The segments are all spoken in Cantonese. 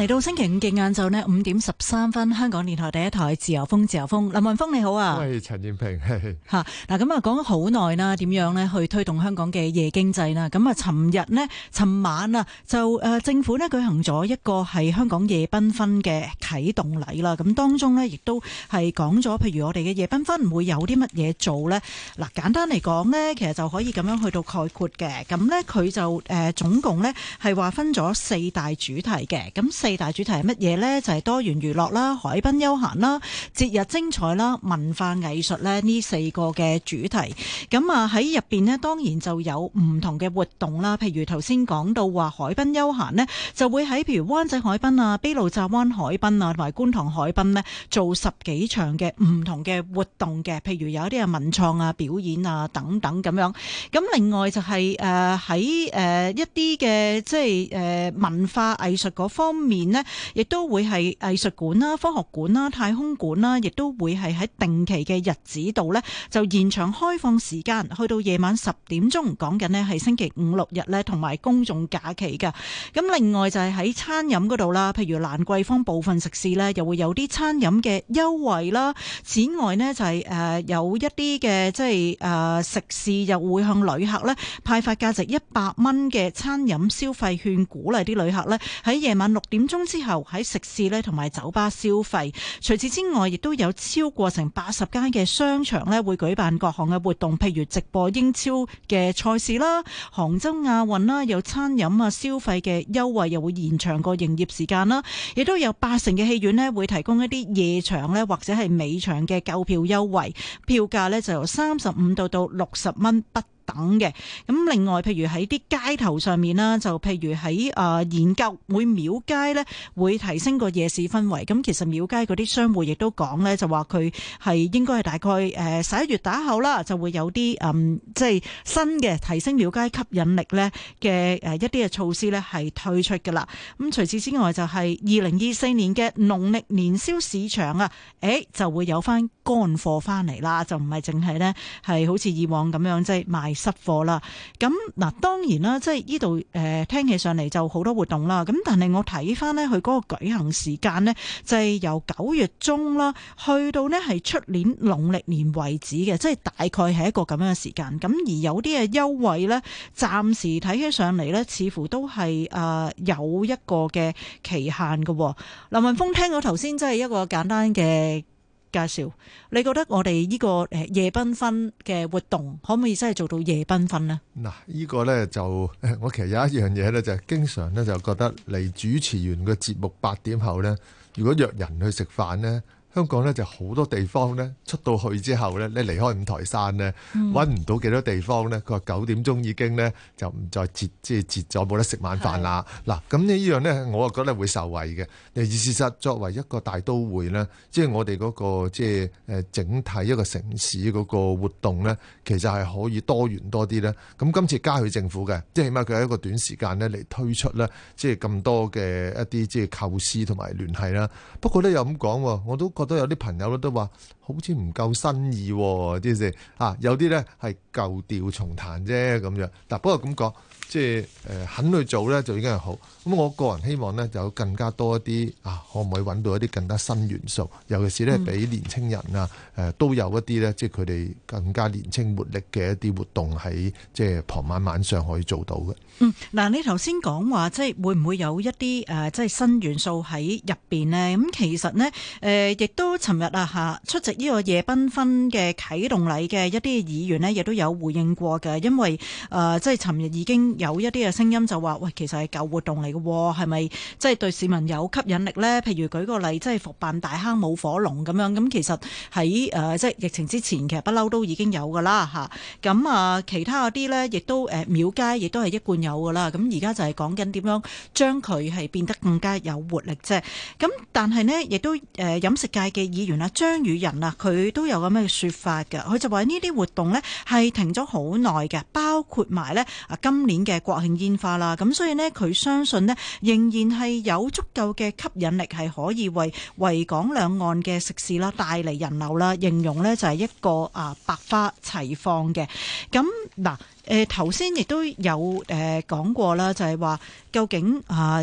嚟到星期五嘅晏晝呢5:13，香港電台第一台自由風，自由風，林雲峰你好啊。 喂，陳燕平。 嗱咁啊，講咗好耐啦，點樣呢去推動香港嘅夜經濟啦？咁啊，尋晚啊，就政府呢舉行咗一個係香港夜繽紛嘅啟動禮啦。咁當中呢，亦都係講咗，譬如我哋嘅夜繽紛會有啲乜嘢做呢？嗱，簡單嚟講呢，其實就可以咁樣去到概括嘅。咁呢，佢就總共呢係話分咗4大主題嘅。咁4大主題係乜嘢呢？就係多元娛樂啦、海濱休閒啦、節日精彩啦、文化藝術咧，呢4個嘅主題。咁啊喺入邊呢，當然就有唔同嘅活動啦。譬如頭先講到話海濱休閒呢，就會喺譬如灣仔海濱啊、卑路乍灣海濱啊同埋觀塘海濱呢，做10幾場嘅唔同嘅活動嘅。譬如有一啲啊文創啊、表演啊等等咁樣。咁另外就係喺一啲嘅即係文化藝術嗰方面呢，亦都會係藝術館啦、科學館啦、太空館啦，亦都會係喺定期嘅日子度呢，就延長開放時間，去到夜晚10點鐘。講緊呢係星期5、6日呢，同埋公眾假期㗎。咁另外就係喺餐飲嗰度啦，譬如蘭桂坊部分食肆呢，又會有啲餐飲嘅優惠啦。此外呢，就係有一啲嘅即係食肆又會向旅客呢派發價值100蚊嘅餐飲消費券，鼓勵啲旅客呢喺夜晚6點鐘之後喺食肆呢同埋酒吧消費。除此之外，亦都有超過成80間嘅商場呢會舉辦各項嘅活動，譬如直播英超嘅賽事啦、杭州亞運啦，有餐飲啊消費嘅優惠，又會延長個營業時間啦。亦都有80嘅戲院呢會提供一啲夜場呢或者係尾場嘅購票優惠，票價呢就由35到60蚊不等嘅。咁另外譬如喺啲街頭上面啦，就譬如喺研究會廟街呢會提升個夜市氛圍。咁其實廟街嗰啲商戶亦都講呢，就話佢係應該係大概11月打後啦，就會有啲即係新嘅提升廟街吸引力呢嘅一啲嘅措施呢係推出㗎啦。咁除此之外就係2024年嘅農曆年宵市場啊，就會有翻乾貨翻嚟啦，就唔係淨係呢係好似以往咁樣即係賣濕貨啦。咁嗱，當然啦，即係呢度聽起上嚟就好多活動啦。咁但係我睇翻呢，佢嗰個舉行時間呢，就係由9月中啦，去到呢係出年農曆年為止嘅，即係大概係一個咁樣嘅時間。咁而有啲嘅優惠呢，暫時睇起上嚟呢，似乎都係有一個嘅期限嘅。林雲峰，聽到頭先即係一個簡單嘅介紹，你覺得我哋呢個夜繽紛嘅活動可唔可以真係做到夜繽紛呢？ 嗱，呢個呢，就我其實有一樣嘢呢，就係經常呢，就覺得嚟主持完個節目8點後呢，如果約人去食飯呢，香港呢就好多地方呢，出到去之後呢，你離開五台山呢，揾唔到幾多地方呢。佢話9點鐘已經呢，就唔再截咗冇得食晚飯啦。嗱，咁呢樣呢，我覺得會受惠嘅。而事實作為一個大都會呢，即係我哋嗰個即係整體一個城市嗰個活動呢，其實係可以多元多啲呢。咁今次加去政府嘅，即係起碼佢喺一個短時間呢嚟推出呢，即係咁多嘅一啲即係構思同埋聯繫啦。不過呢，又咁講，我都覺得有啲朋友都話好似唔夠新意，即係有啲咧係舊調重彈啫咁樣。嗱，不過咁講，即係肯去做咧就已經係好。咁我個人希望咧就有更加多一啲可唔可以揾到一啲更加新元素，尤其是咧俾年青人都有一啲咧，即係佢哋更加年青活力嘅一啲活動喺即係傍晚晚上可以做到嘅。 嗱，你頭先講話即係會唔會有一啲即係新元素喺入邊呢？咁其實呢，亦都尋日出席呢個夜繽紛嘅啟動禮嘅一啲議員呢，亦都有回應過嘅。因為即係尋日已經有一啲嘅聲音就話，喂，其實係舊活動嚟嘅喎，係咪即係對市民有吸引力呢？譬如舉個例，即係復辦大坑舞火龍咁樣，咁其實喺即係疫情之前，其實不嬲都已經有㗎啦嚇。咁其他嗰啲呢，亦都廟街亦都係一貫有噶啦，咁而家就係講緊點樣將佢係變得更加有活力啫。咁但係呢，亦都飲食界嘅議員張宇人佢都有咁嘅說法㗎。佢就話呢啲活動呢係停咗好耐嘅，包括埋呢今年嘅國慶煙花啦。咁所以呢，佢相信呢仍然係有足夠嘅吸引力，係可以為維港兩岸嘅食肆啦帶嚟人流啦。形容呢就係一個百花齊放嘅。咁嗱。頭先亦都有講過啦，就係話究竟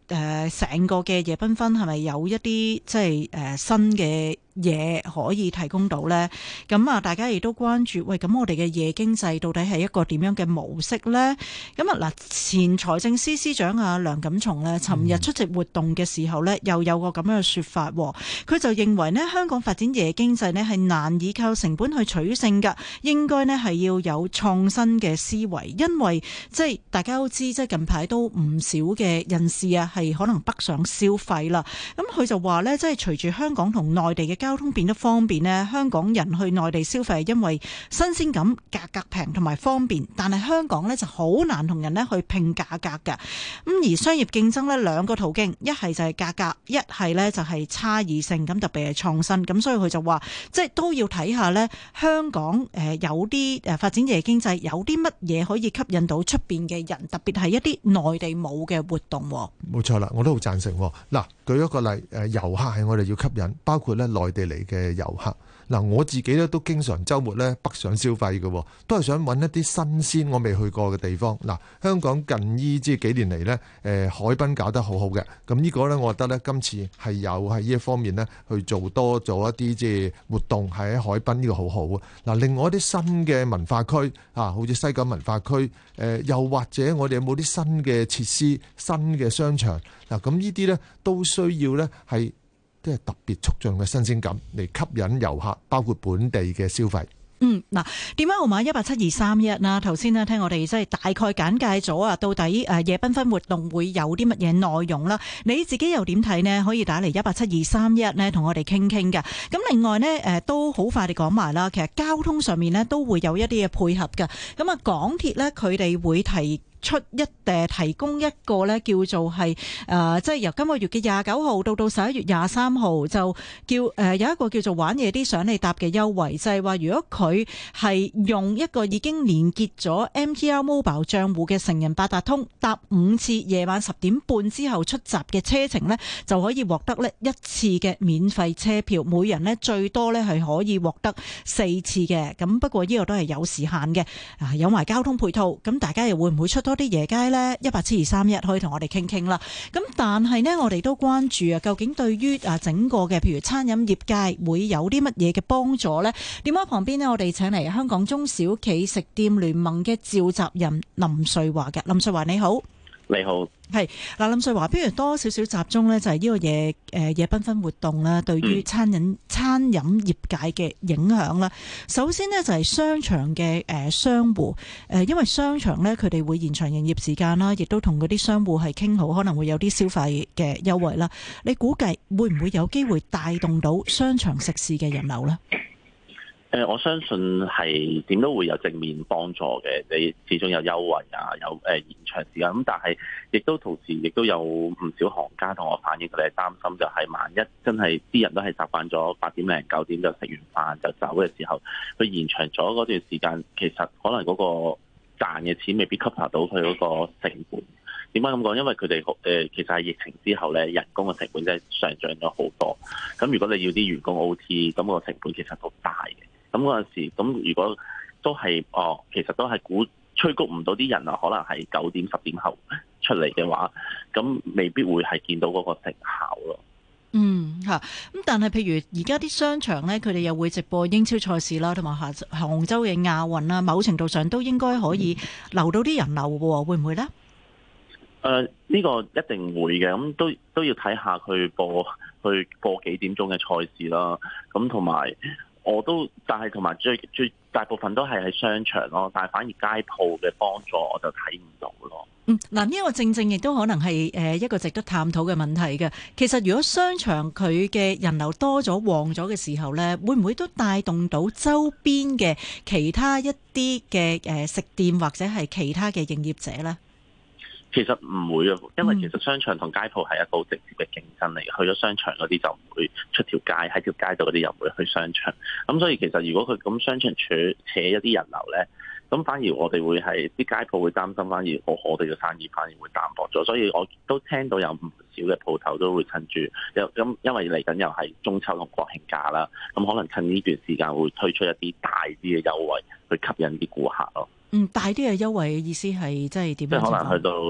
成個嘅夜繽紛係咪有一啲即係新嘅嘢可以提供到呢？咁啊，大家亦都關注，喂，咁我哋嘅夜經濟到底係一個點樣嘅模式呢？咁啊嗱，前財政司司長啊梁錦松呢，尋日出席活動嘅時候呢，又有個咁樣嘅說法，佢就認為呢，香港發展夜經濟呢係難以靠成本去取勝㗎，應該呢係要有創新嘅思維，因為即係大家都知，即係近排都唔少嘅人士啊係可能北上消費啦。咁佢就話呢，即係隨住香港同內地嘅交通變得方便呢，香港人去內地消費係因為新鮮感、價格平同埋方便，但係香港呢就好難同人呢去拼價格㗎。咁而商業競爭呢，兩個途徑，一係就係價格，一係呢就係差異性，咁特別係創新。咁所以佢就話，即係都要睇下呢，香港有啲發展夜經濟有啲乜嘢可以吸引到出邊嘅人，特別係一啲內地冇嘅活動。 冇錯啦，我都好贊成。嗱，舉一個例，遊客係我哋要吸引，包括咧內地嚟嘅遊客。嗱，我自己咧都經常週末咧北上消費嘅，都係想揾一啲新鮮我未去過嘅地方。嗱，香港近呢幾年嚟咧，海濱搞得好好嘅，咁呢個咧我覺得咧今次係有喺呢一方面咧去做多咗一啲即係活動喺海濱，呢個好好啊。嗱，另外一啲新嘅文化區啊，好似西九文化區，又或者我哋有冇啲新嘅設施、新嘅商場嗱，咁呢啲咧都需要咧係即係特別促進嘅新鮮感嚟吸引遊客，包括本地嘅消費。 嗱，電話號碼1872311啦。頭先呢聽我哋即係大概簡介咗啊，到底夜繽紛活動會有啲乜嘢內容啦？你自己又點睇呢？可以打嚟1872311呢，同我哋傾傾㗎。咁另外呢，都好快地講埋啦。其實交通上面呢都會有一啲嘅配合㗎。咁啊，港鐵呢，佢哋會提供一個咧叫做係即係由今個月嘅29號到11月23號就叫有一個叫做玩夜啲上你搭嘅優惠，就係話如果佢係用一個已經連結咗 MTR Mobile 賬戶嘅成人八達通搭5次夜晚10點半之後出閘嘅車程呢，就可以獲得呢1次嘅免費車票，每人呢最多呢係可以獲得4次嘅。咁不過呢個都係有時限嘅，有埋交通配套，咁大家又會唔會出多啲夜街呢？1872311可以同我哋傾傾啦。咁但係呢，我哋都關注啊，究竟對於整個嘅譬如餐飲業界會有啲乜嘢嘅幫助呢？電話旁邊呢，我哋請嚟香港中小企食店聯盟嘅召集人林瑞華嘅。林瑞華你好。 你好， 係嗱，林瑞華，不如多少少集中呢，就係呢個夜繽紛活動啦，對於餐飲業界嘅影響啦。首先呢，就係商場嘅商戶，因為商場呢，佢哋會延長營業時間啦，亦都同嗰啲商戶係傾好，可能會有啲消費嘅優惠啦。你估計會唔會有機會帶動到商場食肆嘅人流呢？ 我相信係點都會有正面幫助嘅，你始終有優惠啊，有延長時間咁，但係亦都同時亦都有唔少行家同我反映，佢哋係擔心就係萬一真係啲人都係習慣咗8點零9點就食完飯就走嘅時候，佢延長咗嗰段時間，其實可能嗰個賺嘅錢未必 cover 到佢嗰個成本。點解咁講？因為佢哋其實係疫情之後咧，人工嘅成本真係上漲咗好多。咁如果你要啲員工 OT，咁個成本其實都大嘅。咁嗰陣時，咁如果都係其實都係催谷唔到啲人啊，可能係9點10點後出嚟嘅話，咁未必會係見到嗰個成效咯。 咁但係譬如而家啲商場咧，佢哋又會直播英超賽事啦，同埋杭州嘅亞運啦，某程度上都應該可以留到啲人流嘅，會唔會咧？ 呢個一定會嘅，咁都要睇下佢播幾點鐘嘅賽事啦。咁同埋但係同埋最大部分都係喺商場咯，但係反而街鋪嘅幫助我就睇唔到咯。 嗱，呢個正亦都可能係一個值得探討嘅問題嘅。其實如果商場佢嘅人流多咗旺咗嘅時候呢，會唔會都帶動到周邊嘅其他一啲嘅食店或者係其他嘅營業者呢？ 其實唔會啊，因為其實商場同街鋪係一個好直接嘅競爭嚟嘅。去咗商場嗰啲就唔會出條街，喺條街度嗰啲又唔會去商場。咁所以其實如果佢咁商場扯一啲人流咧，咁反而我哋會係啲街鋪會擔心，反而我哋嘅生意反而會淡薄咗。所以我都聽到有唔少嘅鋪頭都會趁住，因為嚟緊又係中秋同國慶假啦，咁可能趁呢段時間會推出一啲大啲嘅優惠去吸引啲顧客咯。 大啲嘅優惠嘅意思係即係點樣？ 即係可能去到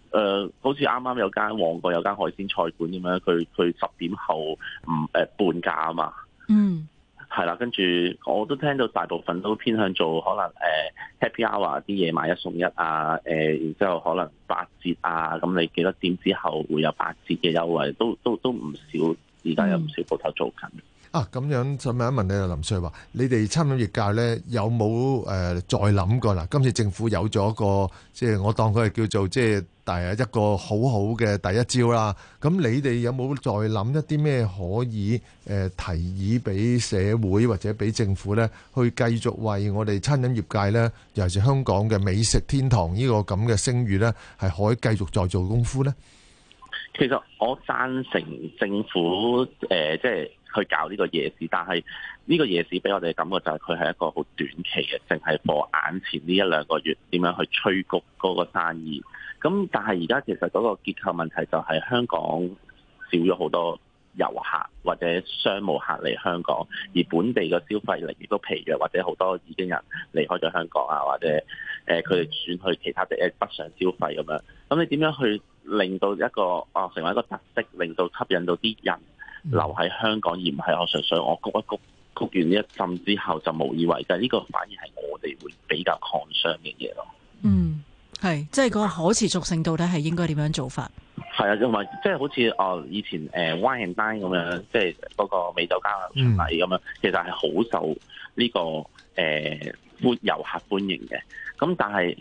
好似啱啱有間旺角有間海鮮菜館咁樣，佢10點後半價啊嘛。 嗯。 係啦，跟住我都聽到大部分都偏向做可能happy hour 啲嘢買1送1啊，然之後可能8折啊，咁你幾多點之後會有8折嘅優惠，都唔少，而家有唔少鋪頭做緊。 咁樣就問一問你啊，林瑞華，你哋餐飲業界咧有冇再諗過啦？今次政府有咗個即係我當佢係叫做即係一個好好嘅第一招啦。咁你哋有冇再諗一啲咩可以提議俾社會或者俾政府咧，去繼續為我哋餐飲業界咧，尤其是香港嘅美食天堂呢個咁嘅聲譽咧，係可以繼續再做功夫咧？ 其實我贊成政府即係去搞呢個夜市，但係呢個夜市俾我哋嘅感覺就係佢係一個好短期嘅，淨係過眼前呢1-2個月點樣去催谷嗰個生意。咁但係而家其實嗰個結構問題就係香港少咗好多遊客或者商務客嚟香港，而本地嘅消費力亦都疲弱，或者好多已經人離開咗香港啊，或者佢哋轉去其他地北上消費咁樣。咁你點樣去令到一個成為一個特色，令到吸引到啲人留喺香港，而唔係我純粹我谷完呢一陣之後就無以為繼？呢個反而係我哋會比較 concern 嘅嘢咯。 嗯，係，即係嗰個可持續性到底係應該點樣做法？ 係啊，同埋即係好似以前Wine and Dine 咁樣，即係嗰個美酒佳餚巡禮咁樣，其實係好受呢個遊客歡迎嘅。咁但係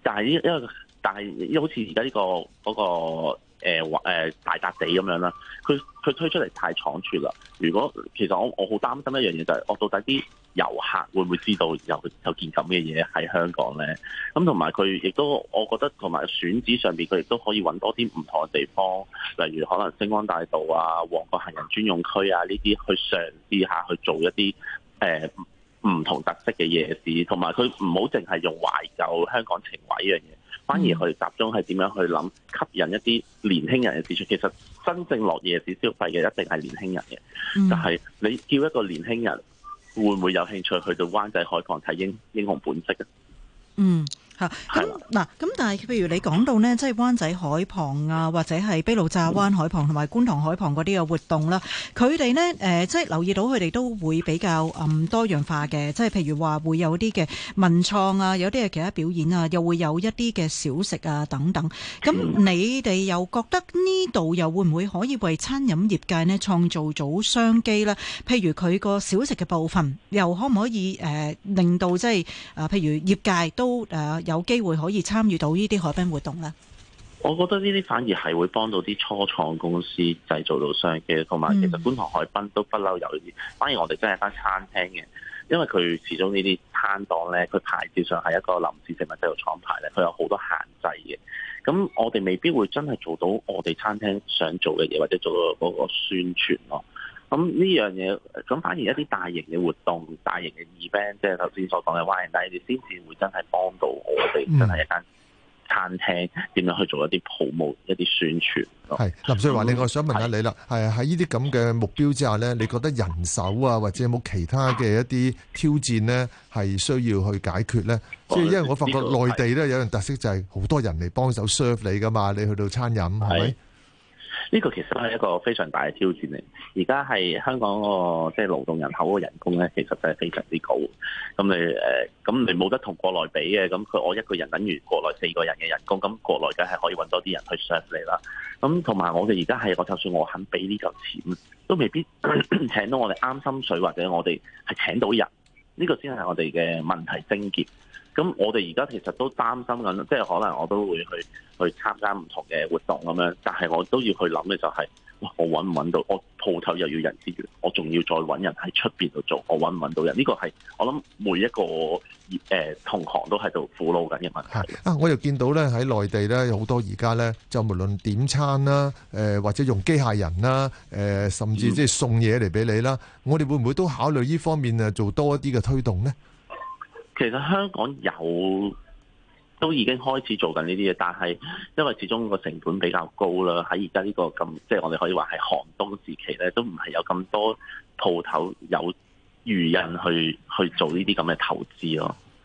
好似而家呢個嗰個大笪地咁樣啦，佢推出嚟太倉促啦。如果其實我好擔心一樣嘢就係，我到底啲遊客會唔會知道有件咁嘅嘢喺香港咧？咁同埋佢亦都，我覺得同埋選址上邊佢亦都可以揾多啲唔同嘅地方，例如可能星光大道啊、旺角行人專用區啊呢啲，去嘗試下去做一啲唔同特色嘅夜市，同埋佢唔好淨係用懷舊香港情懷呢樣嘢。反而佢集中係點樣去諗吸引一啲年輕人嘅市場。其實真正落夜市消費嘅一定係年輕人嘅，就係你叫一個年輕人會唔會有興趣去到灣仔海旁睇英雄本色嘅？ 嗯。咁但係譬如你講到呢，即係灣仔海旁啊，或者係卑路乍灣海旁同埋觀塘海旁嗰啲嘅活動啦，佢哋呢，即係留意到佢哋都會比較多樣化嘅，即係譬如話會有啲嘅文創啊，有啲嘅其他表演啊，又會有一啲嘅小食啊等等。咁你哋又覺得呢度又會唔會可以為餐飲業界呢創造到商機呢？譬如佢個小食嘅部分，又可唔可以令到即係譬如業界都有機會可以參與到呢啲海濱活動呢？ 我覺得呢啲反而係會幫到啲初創公司製造到商機，同埋其實觀塘海濱都不嬲有呢啲。反而我哋真係間餐廳嘅，因為佢始終呢啲攤檔呢，佢牌照上係一個臨時食物製造廠牌咧，佢有好多限制嘅。咁我哋未必會真係做到我哋餐廳想做嘅嘢，或者做到嗰個宣傳咯。咁呢樣嘢，咁反而一啲大型嘅活動、大型嘅 event， 即係頭先所講嘅 Wine and Dine，先至會真係幫到我哋真係一間餐廳點樣去做一啲promote、一啲宣傳。 係林瑞華，另外想問下你啦，係喺呢啲咁嘅目標之下呢，你覺得人手啊，或者有冇其他嘅一啲挑戰呢，係需要去解決呢？即係因為我發覺內地呢有樣特色就係好多人嚟幫手 serve 你噶嘛，你去到餐飲係咪？ 呢個其實係一個非常大嘅挑戰嚟。而家係香港個即係勞動人口個人工咧，其實真係非常之高。咁你冇得同國內比嘅。咁我一個人等於國內4個人嘅人工。咁國內梗係可以揾多啲人去 serve 你啦。咁同埋我哋而家係，我就算我肯俾呢嚿錢，都未必請到我哋啱心水，或者我哋係請到人。呢個先係我哋嘅問題症結。咁我哋而家其實都擔心緊，即係可能我都會去參加唔同嘅活動咁樣，但係我都要去諗嘅就係，我揾唔揾到？我鋪頭又要人資源，我仲要再揾人喺出邊度做，我揾唔揾到人？呢個係我諗每一個同行都喺度苦惱緊嘅問題。 我又見到咧喺內地咧有好多而家咧就無論點餐啦，或者用機械人啦，甚至即係送嘢嚟俾你啦，我哋會唔會都考慮呢方面做多一啲嘅推動呢？ 其實香港都已經開始做緊呢啲嘢，但係因為始終個成本比較高啦，喺而家呢個咁即係我哋可以話係寒冬時期咧，都唔係有咁多鋪頭有餘人去做呢啲咁嘅投資咯。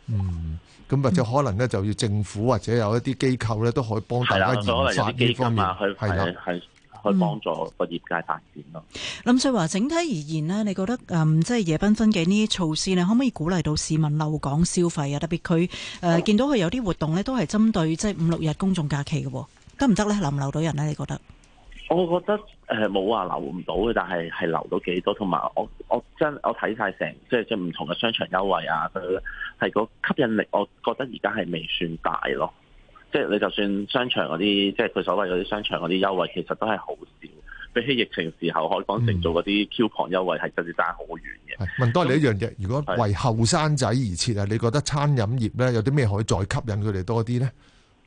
咁或者可能咧就要政府或者有一啲機構咧都可以幫大家研發呢方面，係啦， 去幫助個業界發展咯。 林瑞華，整體而言呢，你覺得即係夜繽紛嘅呢啲措施呢，可唔可以鼓勵到市民留港消費啊？特別佢見到佢有啲活動呢，都係針對即係5-6日公眾假期嘅，得唔得呢？留唔留到人呢？你覺得？ 我覺得冇話留唔到嘅，但係留到幾多，同埋我睇晒成即係唔同嘅商場優惠啊，佢係個吸引力，我覺得而家係未算大咯。即係你就算商場嗰啲，即係佢所謂嗰啲商場嗰啲優惠，其實都係好少，比起疫情時候海港城做嗰啲 coupon 優惠係真係爭好遠嘅。 問多你一樣嘢，如果為後生仔而設啊，你覺得餐飲業咧有啲咩可以再吸引佢哋多啲咧？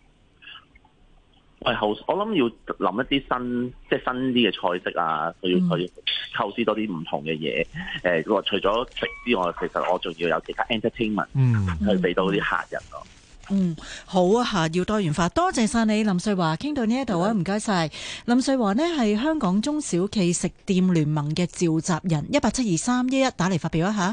我諗要諗一啲新啲嘅菜式啊，佢要構思多啲唔同嘅嘢。除咗食之外，其實我仲要有其他 entertainment 去俾到啲客人咯。 好啊，要多元化。多謝晒你，林瑞華，傾到呢一度啊，唔該晒。林瑞華呢係香港中小企食店聯盟嘅召集人，1872311打嚟發表一下。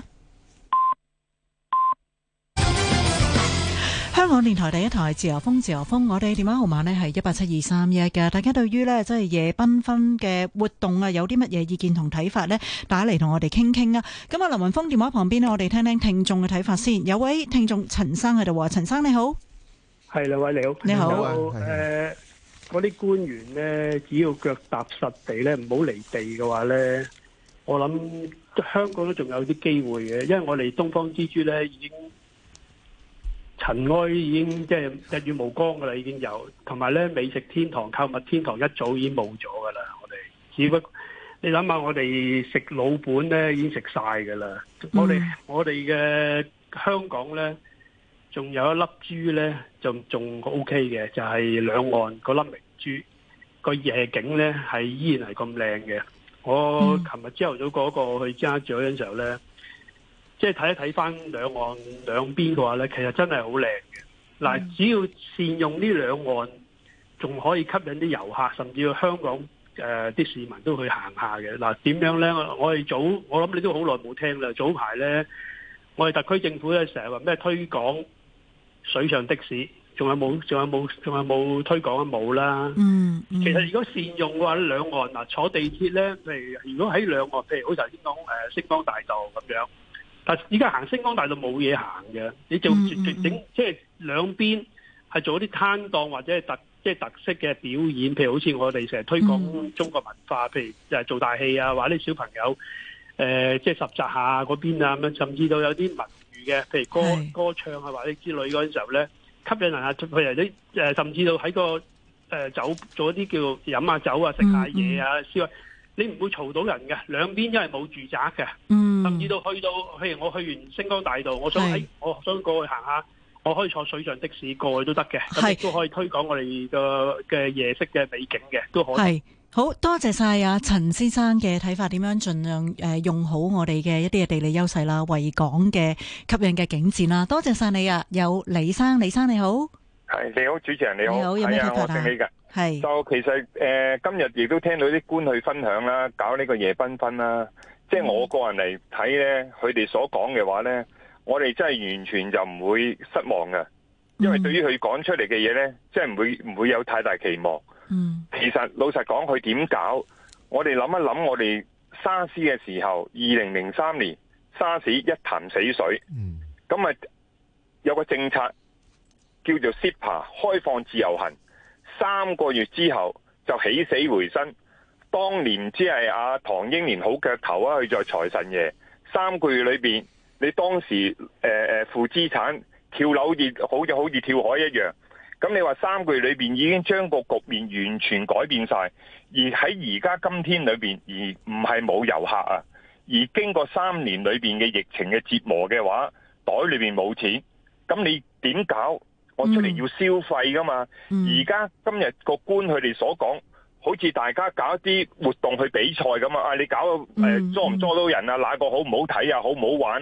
香港電台第一台自由風，我哋電話號碼呢係1872311嘅。大家對於呢即係夜繽紛嘅活動啊，有啲乜嘢意見同睇法呢？打嚟同我哋傾傾啊。咁啊，林雲峰電話旁邊呢，我哋聽聽聽眾嘅睇法先。有位聽眾陳生喺度話，陳生你好， 係兩位你好， 你好。 嗰啲官員呢，只要腳踏實地呢，唔好離地嘅話呢，我諗香港都仲有啲機會嘅，因為我哋東方之珠呢已經。塵埃已經即係日月無光噶啦，已經有，同埋咧美食天堂、購物天堂一早已經冇咗噶啦。我哋只不過你諗下，我哋食老本咧已經食晒噶啦。我哋嘅香港咧，仲有一粒珠咧，就仲 OK 嘅，就係兩岸嗰粒明珠，個夜景咧係依然係咁靚嘅。我琴日朝頭早嗰個去尖沙咀嗰陣時候咧。即係睇一睇翻兩岸兩邊嘅話咧，其實真係好靚嘅。嗱，只要善用呢兩岸，仲可以吸引啲遊客，甚至乎香港啲市民都去行下嘅。嗱，點樣咧？我諗你都好耐冇聽啦。早排咧，我哋特區政府咧成日話咩推廣水上的士，仲有冇推廣啊？冇啦。其實如果善用嘅話，兩岸嗱坐地鐵咧，譬如果喺兩岸，譬如好似頭先講星光大道咁樣。但依家行星光大道冇嘢行嘅，你就整即係兩邊係做啲攤檔或者係特色嘅表演，譬如好似我哋成日推廣中國文化，譬如就係做大戲啊，或者啲小朋友即係十集下嗰邊啊咁樣，甚至到有啲文娛嘅，譬如歌唱啊或者之類嗰陣時候咧，吸引人啊，譬如啲甚至到喺個酒做一啲叫飲下酒啊、食下嘢啊、燒啊。你唔會嘈到人嘅，兩邊因為冇住宅嘅，甚至到去到，譬如我去完星光大道，我想過去行下，我可以坐水上的士過去都得嘅，咁亦都可以推廣我哋嘅夜色嘅美景嘅，都可以。係好多謝晒啊陳先生嘅睇法，點樣盡量用好我哋嘅一啲嘅地理優勢啦，維港嘅吸引嘅景致啦，多謝晒你啊！有李生你好， 係你好，主持人你好， 有咩睇法啊？ 我姓李㗎。 係就其實今日亦都聽到啲官去分享啦，搞呢個夜繽紛啦。即係我個人嚟睇咧，佢哋所講嘅話咧，我哋真係完全就唔會失望嘅，因為對於佢講出嚟嘅嘢咧，即係唔會有太大期望。其實老實講，佢點搞？我哋諗一諗，我哋沙士嘅時候，2003年沙士一潭死水，咁啊有個政策叫做 CEPA 開放自由行。3個月之後就起死回生，當年只係阿唐英年好腳頭啊，佢在財神爺3個月裏邊，你當時負資產跳樓好似跳海一樣，咁你話3個月裏邊已經將個局面完全改變晒，而喺而家今天裏邊，而唔係冇遊客啊，而經過3年裏邊嘅疫情嘅折磨嘅話，袋裏邊冇錢，咁你點搞？我出嚟要消費噶嘛，而家今日個官佢哋所講，好似大家搞一啲活動去比賽咁啊！你搞捉唔捉到人啊？哪個好唔好睇啊？好唔好玩啊？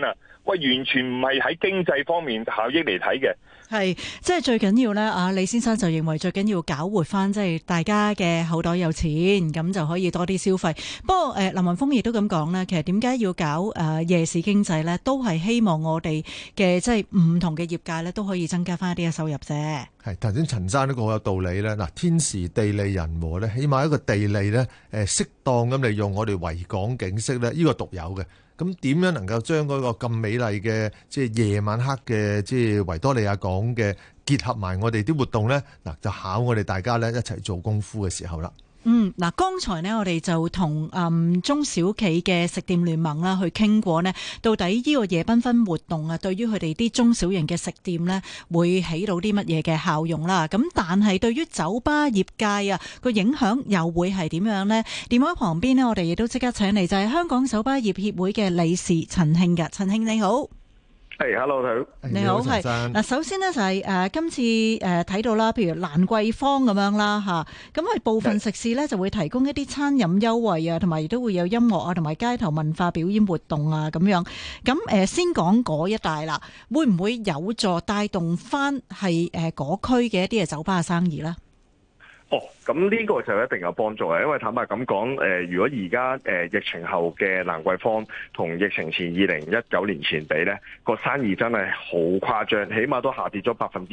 喂，完全唔係喺經濟方面效益嚟睇嘅。 係，即係最緊要咧，李先生就認為最緊要搞活翻，即係大家嘅口袋有錢，咁就可以多啲消費。不過林雲峰亦都咁講咧，其實點解要搞夜市經濟咧，都係希望我哋嘅即係唔同嘅業界咧，都可以增加翻一啲嘅收入啫。 係頭先陳生呢個好有道理咧。嗱，天時地利人和咧，起碼一個地利咧，適當咁利用我哋維港景色咧，呢個獨有嘅。咁點樣能夠將嗰個咁美麗嘅即係夜晚黑嘅即係維多利亞港嘅結合埋我哋啲活動咧？嗱，就考我哋大家咧一齊做功夫嘅時候啦。 嗱，剛才呢，我哋就同中小企嘅食店聯盟啦去傾過呢，到底呢個夜繽紛活動啊，對於佢哋啲中小型嘅食店呢，會起到啲乜嘢嘅效用啦？咁但係對於酒吧業界啊，個影響又會係點樣呢？電話旁邊呢，我哋亦都即刻請嚟就係香港酒吧業協會嘅理事陳慶嘅。陳慶你好。 hello， 你好，係嗱，首先呢，就係今次睇到啦，譬如蘭桂坊咁樣啦嚇，咁佢部分食肆呢，就會提供一啲餐飲優惠啊，同埋亦都會有音樂啊，同埋街頭文化表演活動啊咁樣。咁先講嗰一帶啦，會唔會有助帶動翻係嗰區嘅一啲嘅酒吧嘅生意呢？ 咁呢個就一定有幫助嘅，因為坦白咁講，如果而家疫情後嘅蘭桂坊同疫情前2019年前比咧，個生意真係好誇張，起碼都下跌咗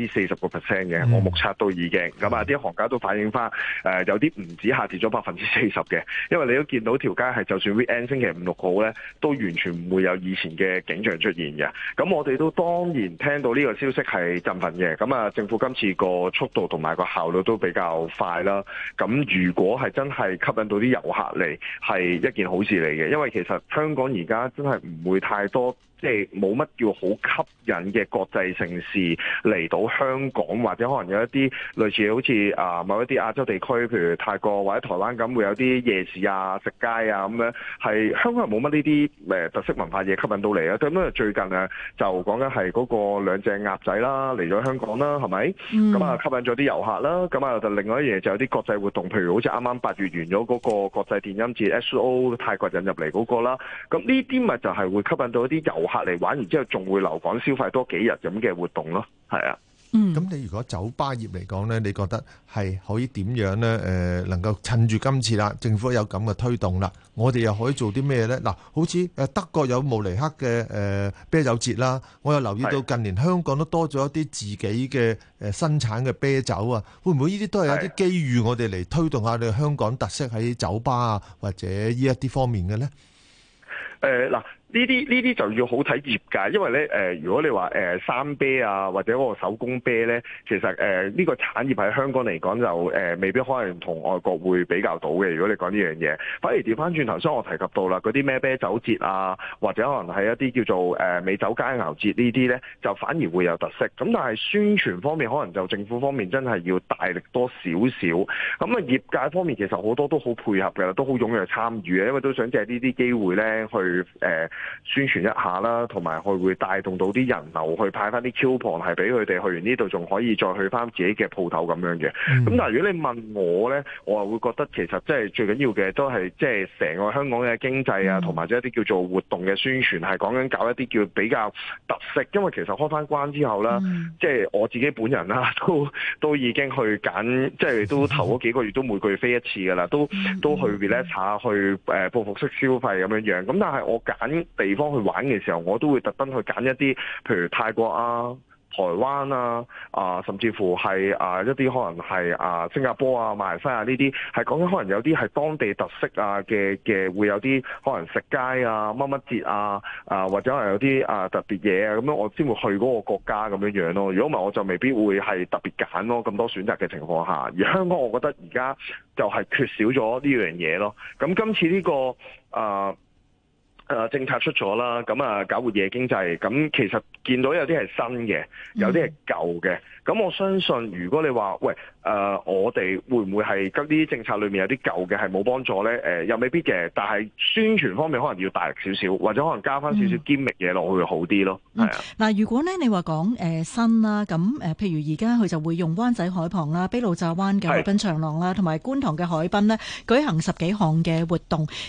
40%嘅，我目測都已經。咁啊，啲行家都反映翻，有啲唔止下跌咗40%嘅，因為你都見到條街係就算 weekend 星期5、6號咧，都完全唔會有以前嘅景象出現嘅。咁我哋都當然聽到呢個消息係振奮嘅。咁啊，政府今次個速度同埋個效率都比較快啦。咁如果係真係吸引到啲遊客嚟，係一件好事嚟嘅，因為其實香港而家真係唔會太多，即係冇乜叫好吸引嘅國際城市嚟到香港，或者可能有一啲類似好似某一啲亞洲地區，譬如泰國或者台灣咁，會有啲夜市啊、食街啊咁樣，係香港人冇乜呢啲特色文化嘢吸引到嚟啊。咁因為最近啊，就講緊係嗰個兩隻鴨仔啦嚟咗香港啦，係咪？咁啊吸引咗啲遊客啦。咁啊就另外一樣嘢就有啲國際活動，譬如好似啱啱8月完咗嗰個國際電音節 SO 泰國引入嚟嗰個啦。咁呢啲咪就係會吸引到一啲遊客嚟玩，完之後仲會留港消費多幾日咁嘅活動咯，係啊。 咁你如果酒吧業嚟講呢，你覺得係可以點樣呢？能夠趁住今次啦，政府有咁嘅推動啦，我哋又可以做啲咩呢？嗱，好似德國有慕尼黑嘅啤酒節啦，我又留意到近年香港都多咗一啲自己嘅生產嘅啤酒啊，會唔會呢啲都係有啲機遇我哋嚟推動下你香港特色喺酒吧啊或者呢一啲方面嘅呢？ 嗱。呢啲就要好睇業界，因為咧如果你話生啤啊或者嗰個手工啤咧，其實呢個產業喺香港嚟講就未必可能同外國會比較到嘅。如果你講呢樣嘢，反而調翻轉頭先我提及到啦，嗰啲咩啤酒節啊，或者可能係一啲叫做美酒佳肴節呢啲咧，就反而會有特色。咁但係宣傳方面，可能就政府方面真係要大力多少少。咁啊業界方面其實好多都好配合嘅，都好踴躍參與嘅，因為都想借呢啲機會咧去宣傳一下啦，同埋佢會帶動到啲人流去派翻啲 coupon，係俾佢哋去完呢度仲可以再去翻自己嘅鋪頭咁樣嘅。咁但係如果你問我呢，我又會覺得其實即係最緊要嘅都係即係成個香港嘅經濟啊，同埋一啲叫做活動嘅宣傳，係講緊搞一啲叫比較特色。因為其實開翻關之後啦，即係我自己本人啦，都已經去揀，即係都頭嗰幾個月都每個月飛一次噶啦，都去 relax 下，去報復式消費咁樣樣。咁但係我揀地方去玩嘅時候，我都會特登去揀一啲，譬如泰國啊、台灣啊，甚至乎係一啲可能係新加坡啊、馬來西亞呢啲，係講緊可能有啲係當地特色嘅會有啲可能食街啊、乜乜節啊，或者係有啲特別嘢啊，咁樣我先會去嗰個國家咁樣樣咯。如果唔係，我就未必會係特別揀咯。咁多選擇嘅情況下，而香港我覺得而家就係缺少咗呢樣嘢咯。咁今次呢個政策出咗啦，咁搞活夜經濟，咁其實見到有啲係新嘅，有啲係舊嘅。咁我相信，如果你話喂，我哋會唔會係呢啲政策裏面有啲舊嘅係冇幫助咧？又未必嘅，但係宣傳方面可能要大力少少，或者可能加翻少少堅力嘢落去會好啲咯。係啊。嗱， 如果咧你話講新啦，咁譬如而家佢就會用灣仔海旁啦、卑路乍灣嘅海濱長廊啦，同埋觀塘嘅海濱咧舉行10幾項嘅活動。咁當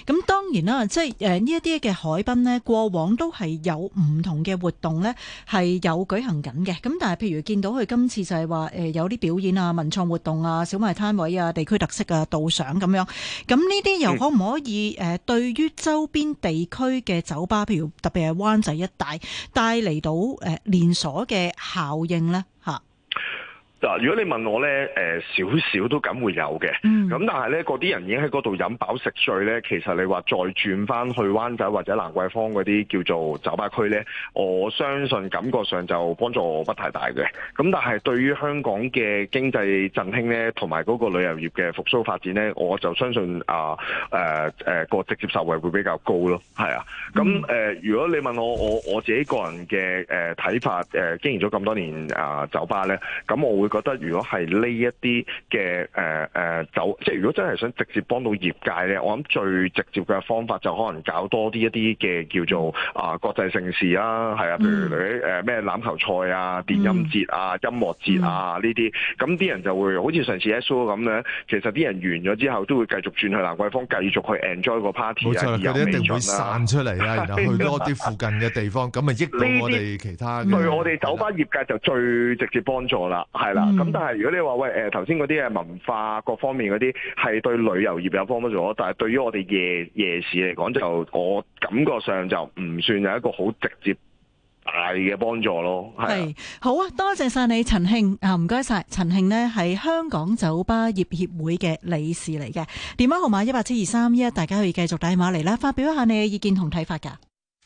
當然啦，即係呢一啲嘅海濱呢，過往都係有唔同嘅活動呢，係有舉行緊嘅。咁但係譬如見到佢今次就係話有啲表演啊、文創活動啊、小賣攤位啊、地區特色啊、導賞咁樣。咁呢啲又可唔可以對於周邊地區嘅酒吧，譬如特別係灣仔一帶，帶嚟到連鎖嘅效應呢？嚇？ 嗱，如果你問我咧，少少都梗會有嘅。咁但係咧，嗰啲人已經喺嗰度飲飽食醉咧，其實你話再轉翻去灣仔或者蘭桂坊嗰啲叫做酒吧區咧，我相信感覺上就幫助不太大嘅。咁但係對於香港嘅經濟振興咧，同埋嗰個旅遊業嘅復甦發展咧，我就相信個直接受惠會比較高咯。係啊，咁如果你問我自己個人嘅睇法，經營咗咁多年酒吧咧，咁我會覺得如果係呢一啲嘅即係如果真係想直接幫到業界咧，我諗最直接嘅方法就可能搞多啲一啲嘅叫做國際盛事啦，係啊，譬如你咩欖球賽啊、電音節啊、音樂節啊呢啲，咁啲人就會好似上次 SO 咁咧，其實啲人完咗之後都會繼續轉去蘭桂坊，繼續去 enjoy 個 party 啊， 冇錯，佢哋一定會散出嚟啊，然後去多啲附近嘅地方，咁咪益到我哋其他嘅。 對我哋酒吧業界就最直接幫助啦，係啦。咁但係如果你話喂頭先嗰啲文化各方面嗰啲係對旅遊業有幫助，但係對於我哋夜市嚟講，就我感覺上就唔算有一個好直接大嘅幫助咯。係好啊，多謝晒你陳慶啊，唔該晒。陳慶呢係香港酒吧業協會嘅理事嚟嘅，電話號碼1872311，大家可以繼續打電話嚟啦，發表一下你嘅意見同睇法㗎。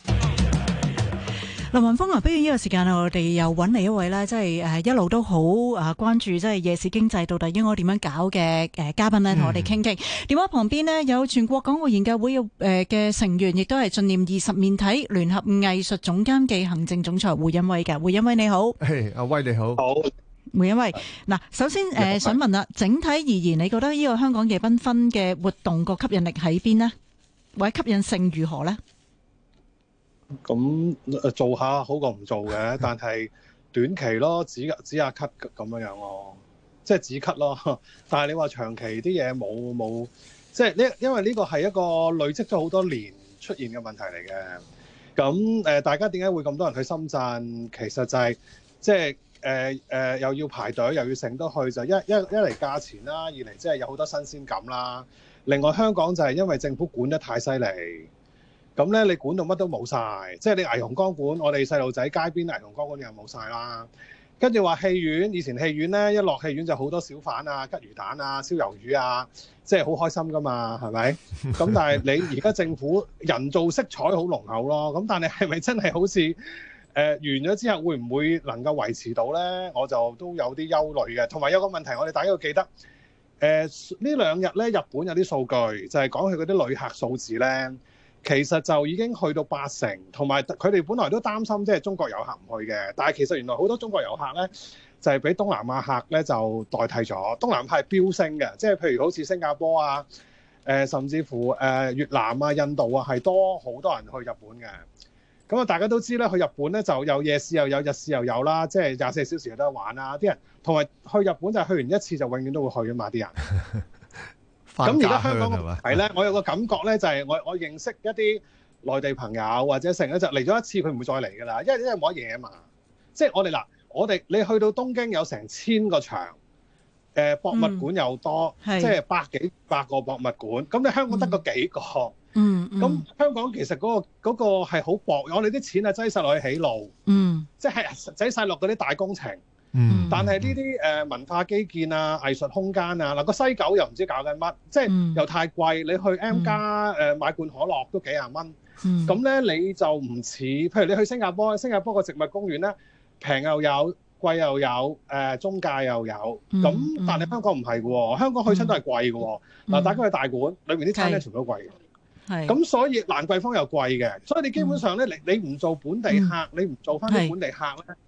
林雲峰啊，不如呢個時間我哋又揾嚟一位咧，即係一路都好關注即係夜市經濟到底應該點樣搞嘅嘉賓咧，同我哋傾傾。電話旁邊呢，有全國港澳研究會嘅成員，亦都係進念20面體聯合藝術總監暨行政總裁胡恩威嘅。胡恩威你好， 阿威你好， 好。 胡恩威，嗱，首先想問啦，整體而言，你覺得呢個香港夜繽紛嘅活動個吸引力喺邊呢？或者吸引性如何呢？ 咁做下好過唔做嘅，但係短期咯，止下咳咁樣咯，即係止咳咯。但係你話長期啲嘢冇，即係因為呢個係一個累積咗好多年出現嘅問題嚟嘅。咁大家點解會咁多人去深圳？其實就係即係又要排隊，又要成得去，就一嚟價錢啦，二嚟即係有好多新鮮感啦。另外香港就係因為政府管得太犀利。咁咧，你管到乜都冇晒，即係你霓虹光管，我哋細路仔街邊霓虹光管又冇晒啦。跟住話戲院，以前戲院咧一落戲院就好多小販啊、吉魚蛋啊、燒魷魚啊，即係好開心噶嘛，係咪？咁但係你而家政府人造色彩好濃厚咯，咁但係係咪真係好似完咗之後會唔會能夠維持到咧？我就都有啲憂慮嘅。同埋有個問題，我哋大家要記得，呢兩日咧日本有啲數據就係講佢嗰啲旅客數字咧。其實就已經去到80%，同埋佢哋本來都擔心即係中國遊客唔去嘅，但係其實原來好多中國遊客咧就係俾東南亞客咧就代替咗。東南亞係飆升嘅，即係譬如好似新加坡啊，甚至乎越南啊、印度啊係多好多人去日本嘅。咁啊，大家都知咧，去日本咧就有夜市又有日市又有啦，即係24小時有得玩啦。啲人同埋去日本就係去完一次就永遠都會去啊嘛，啲人。咁而家香港係咧，我有個感覺咧，就係我認識一啲內地朋友或者成日就嚟咗一次，佢唔會再嚟㗎啦，因為冇乜嘢啊嘛。即係我哋你去到東京有成1000個場，博物館又多，即係百個博物館。咁你香港得個幾個？咁香港其實嗰個係好薄，我哋啲錢係擠晒落去起路，即係擠晒落嗰啲大工程。但係呢啲文化基建啊、藝術空間啊，嗱個西九又唔知搞緊乜，即係又太貴。你去 M+ 買罐可樂都幾廿蚊，咁咧你就唔似，譬如你去新加坡個植物公園咧，平又有，貴又有，中價又有，咁但係香港唔係嘅喎，香港去親都係貴嘅喎。嗱，大家去大館裏面啲餐廳全部都貴嘅，咁所以蘭桂坊又貴嘅，所以你基本上咧，你唔做本地客，你唔做翻啲本地客咧。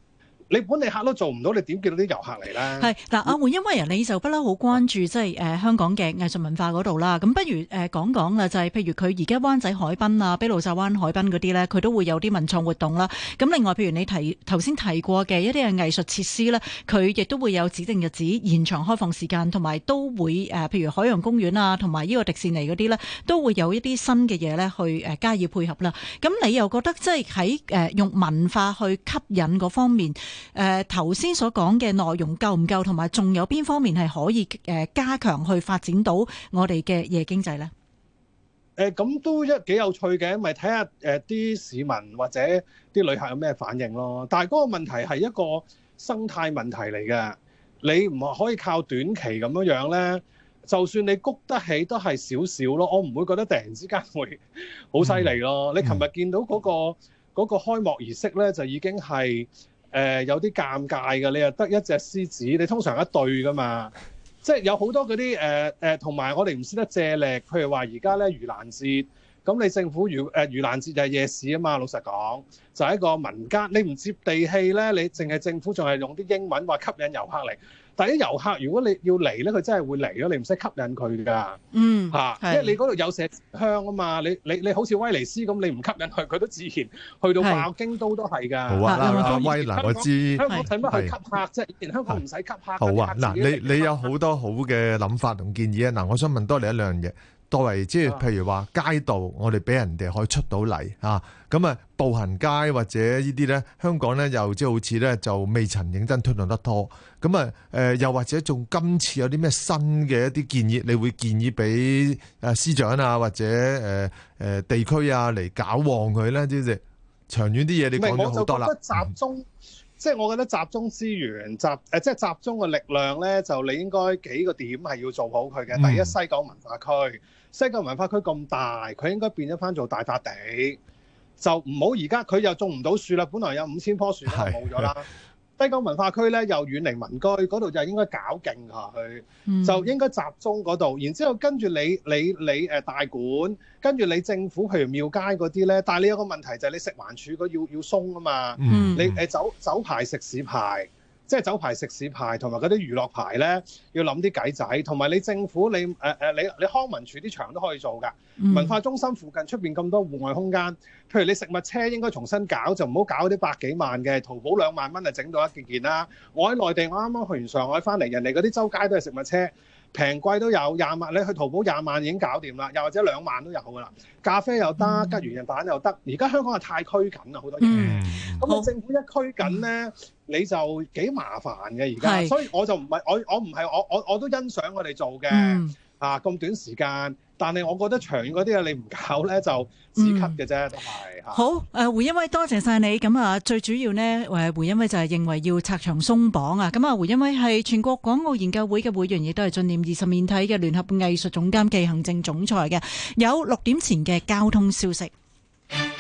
你本地客都做唔到，你點叫到啲遊客嚟咧？ 係嗱，阿胡恩威啊，你就不嬲好關注即係香港嘅藝術文化嗰度啦。咁不如講講啦，就係譬如佢而家灣仔海濱啊、卑路乍灣海濱嗰啲咧，佢都會有啲文創活動啦。咁另外，譬如你頭先提過嘅一啲嘅藝術設施咧，佢亦都會有指定日子延長開放時間，同埋都會譬如海洋公園啊，同埋呢個迪士尼嗰啲咧，都會有一啲新嘅嘢咧去加以配合啦。咁你又覺得即係喺用文化去吸引嗰方面？頭先所講嘅內容夠唔夠，同埋仲有邊方面係可以加強去發展到我哋嘅夜經濟呢？ 咁都幾有趣嘅，咪睇下啲市民或者啲旅客有咩反應咯。但係嗰個問題係一個生態問題嚟嘅，你唔可以靠短期咁樣呢。就算你谷得起都係少少咯，我唔會覺得突然之間會好犀利咯。你琴日見到嗰個開幕儀式呢，就已經係有啲尷尬嘅，你又得一隻獅子，你通常一對噶嘛，即係有好多嗰啲同埋我哋唔識得借力，譬如話而家咧盂蘭節，咁你政府盂蘭節就係夜市啊嘛，老實講就係一個民間，你唔接地氣咧，你淨係政府仲係用啲英文話吸引遊客嚟。但係啲遊客如果你要嚟咧，佢真係會嚟咯，你唔使吸引佢㗎。因為你嗰度有麝香啊嘛，你好似威尼斯咁，你唔吸引佢，佢都自然去到爆京都都係㗎。 好啊，威嗱，我知香港使乜去吸客啫？以前香港唔使吸客。好啊，嗱，你有好多好嘅諗法同建議啊！嗱，我想問多你一兩樣嘢。作為即係譬如話街道，我哋俾人哋可以出到嚟啊，咁啊步行街或者呢啲咧，香港咧又即係好似咧就未曾認真推動得多，咁啊又或者仲今次有啲咩新嘅一啲建議，你會建議俾司長啊或者地區啊嚟搞旺佢咧？即係長遠啲嘢，你講咗好多啦。 集中。即係我覺得集中資源，即係集中嘅力量咧，就你應該幾個點係要做好佢嘅。第一，西九文化區，西九文化區咁大，佢應該變咗翻做大笪地，就唔好而家佢又種唔到樹啦。本來有5000棵樹都冇咗啦。西九文化區咧又遠離民居，嗰度就應該搞勁下去，就應該集中嗰度。然之後跟住你大館，跟住你政府，譬如廟街嗰啲咧。但係你有個問題就係你食環署嗰要鬆啊嘛。你酒牌食肆牌，即係酒牌食肆牌同埋嗰啲娛樂牌咧，要諗啲計仔。同埋你政府你康文署啲場都可以做㗎。文化中心附近出邊咁多戶外空間，譬如你食物車應該重新搞，就唔好搞啲百幾萬嘅，淘寶2萬蚊就整到一件啦。我喺內地，我啱啱去完上海翻嚟，人哋嗰啲周街都係食物車，平貴都有20萬，你去淘寶20萬已經搞掂啦，又或者2萬都有㗎啦。咖啡又得，吉魚人蛋又得。而家香港係太拘謹啦，好多嘢。咁你政府一拘謹咧，你就幾麻煩嘅而家。所以我就唔係我都欣賞我哋做嘅咁短時間。但係我覺得長遠嗰啲嘢你唔搞咧就止咳嘅啫，都係。 好，胡恩威多謝晒你。咁啊，最主要呢，胡恩威就係認為要拆牆鬆綁啊。咁啊，胡恩威係全國港澳研究會嘅會員，亦都係進念20面體嘅聯合藝術總監暨行政總裁嘅。有6點前嘅交通消息。